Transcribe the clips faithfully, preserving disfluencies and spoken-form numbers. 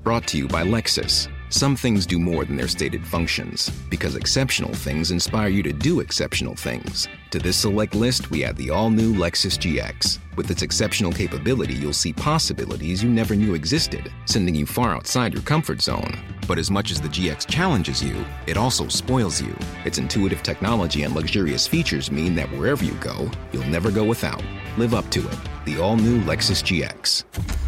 Brought to you by Lexus. Some things do more than their stated functions, because exceptional things inspire you to do exceptional things. To this select list, we add the all-new Lexus G X. With its exceptional capability, you'll see possibilities you never knew existed, sending you far outside your comfort zone. But as much as the G X challenges you, it also spoils you. Its intuitive technology and luxurious features mean that wherever you go, you'll never go without. Live up to it. The all-new Lexus G X.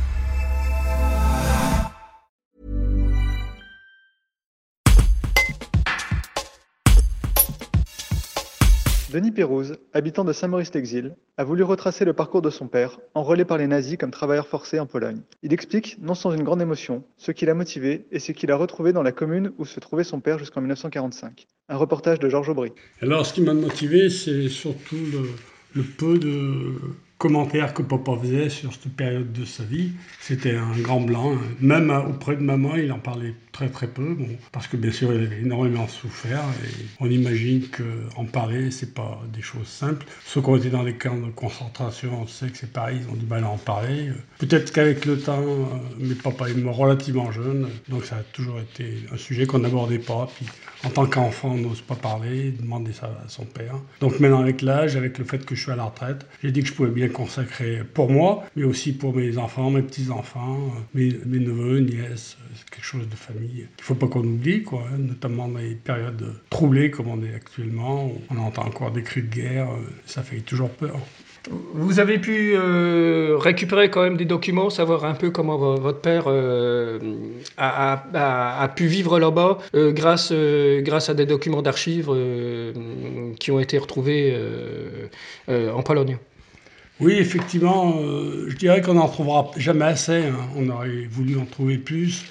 Denis Pérouse, habitant de Saint-Maurice-l'Exil, a voulu retracer le parcours de son père, enrôlé par les nazis comme travailleur forcé en Pologne. Il explique, non sans une grande émotion, ce qui l'a motivé et ce qu'il a retrouvé dans la commune où se trouvait son père jusqu'en dix-neuf cent quarante-cinq. Un reportage de Georges Aubry. Alors, ce qui m'a motivé, c'est surtout le, le peu de commentaires que papa faisait sur cette période de sa vie. C'était un grand blanc. Même auprès de maman, il en parlait très très peu, bon, parce que bien sûr, il avait énormément souffert. Et on imagine qu'en parler, c'est pas des choses simples. Ceux qui ont été dans les camps de concentration, on sait que c'est pareil, ils ont du mal à en parler. Peut-être qu'avec le temps, mes papa est mort relativement jeune, donc ça a toujours été un sujet qu'on n'abordait pas. Puis, en tant qu'enfant, on n'ose pas parler, demander ça à son père. Donc maintenant, avec l'âge, avec le fait que je suis à la retraite, j'ai dit que je pouvais bien consacrer pour moi, mais aussi pour mes enfants, mes petits-enfants, mes, mes neveux, nièces. C'est quelque chose de famille qu'il ne faut pas qu'on oublie, quoi, hein, notamment dans les périodes troublées comme on est actuellement. On entend encore des cris de guerre, ça fait toujours peur. Vous avez pu euh, récupérer quand même des documents, savoir un peu comment v- votre père euh, a, a, a pu vivre là-bas euh, grâce, euh, grâce à des documents d'archives euh, qui ont été retrouvés euh, euh, en Pologne. Oui, effectivement, euh, je dirais qu'on n'en trouvera jamais assez, hein. On aurait voulu en trouver plus.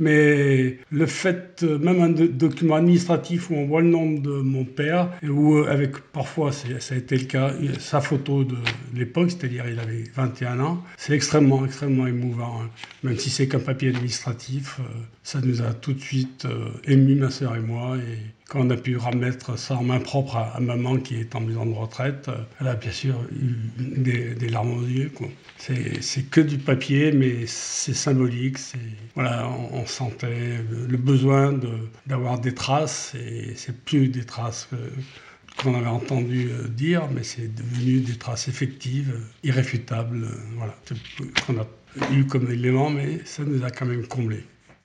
Mais le fait, même un document administratif où on voit le nom de mon père, et où avec parfois, c'est, ça a été le cas, sa photo de l'époque, c'est-à-dire il avait vingt et un ans, c'est extrêmement, extrêmement émouvant, hein. Même si c'est qu'un papier administratif, ça nous a tout de suite euh, émus, ma sœur et moi, et quand on a pu remettre ça en main propre à, à maman qui est en maison de retraite, elle a bien sûr eu des, des larmes aux yeux, quoi. C'est, c'est que du papier, mais c'est symbolique. C'est, voilà, on, on sentait le, le besoin de, d'avoir des traces, et c'est plus des traces que, qu'on avait entendu dire, mais c'est devenu des traces effectives, irréfutables. Voilà, qu'on a eu comme élément, mais ça nous a quand même comblés.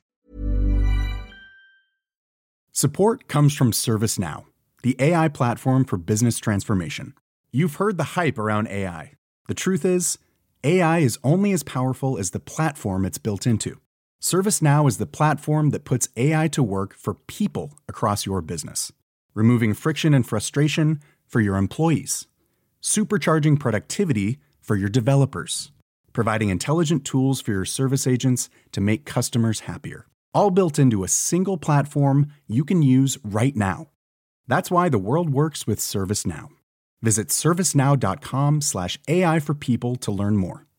Support comes from ServiceNow, the A I platform for business transformation. You've heard the hype around A I. The truth is, A I is only as powerful as the platform it's built into. ServiceNow is the platform that puts A I to work for people across your business, removing friction and frustration for your employees, supercharging productivity for your developers, providing intelligent tools for your service agents to make customers happier. All built into a single platform you can use right now. That's why the world works with ServiceNow. Visit servicenow.com slash AI for people to learn more.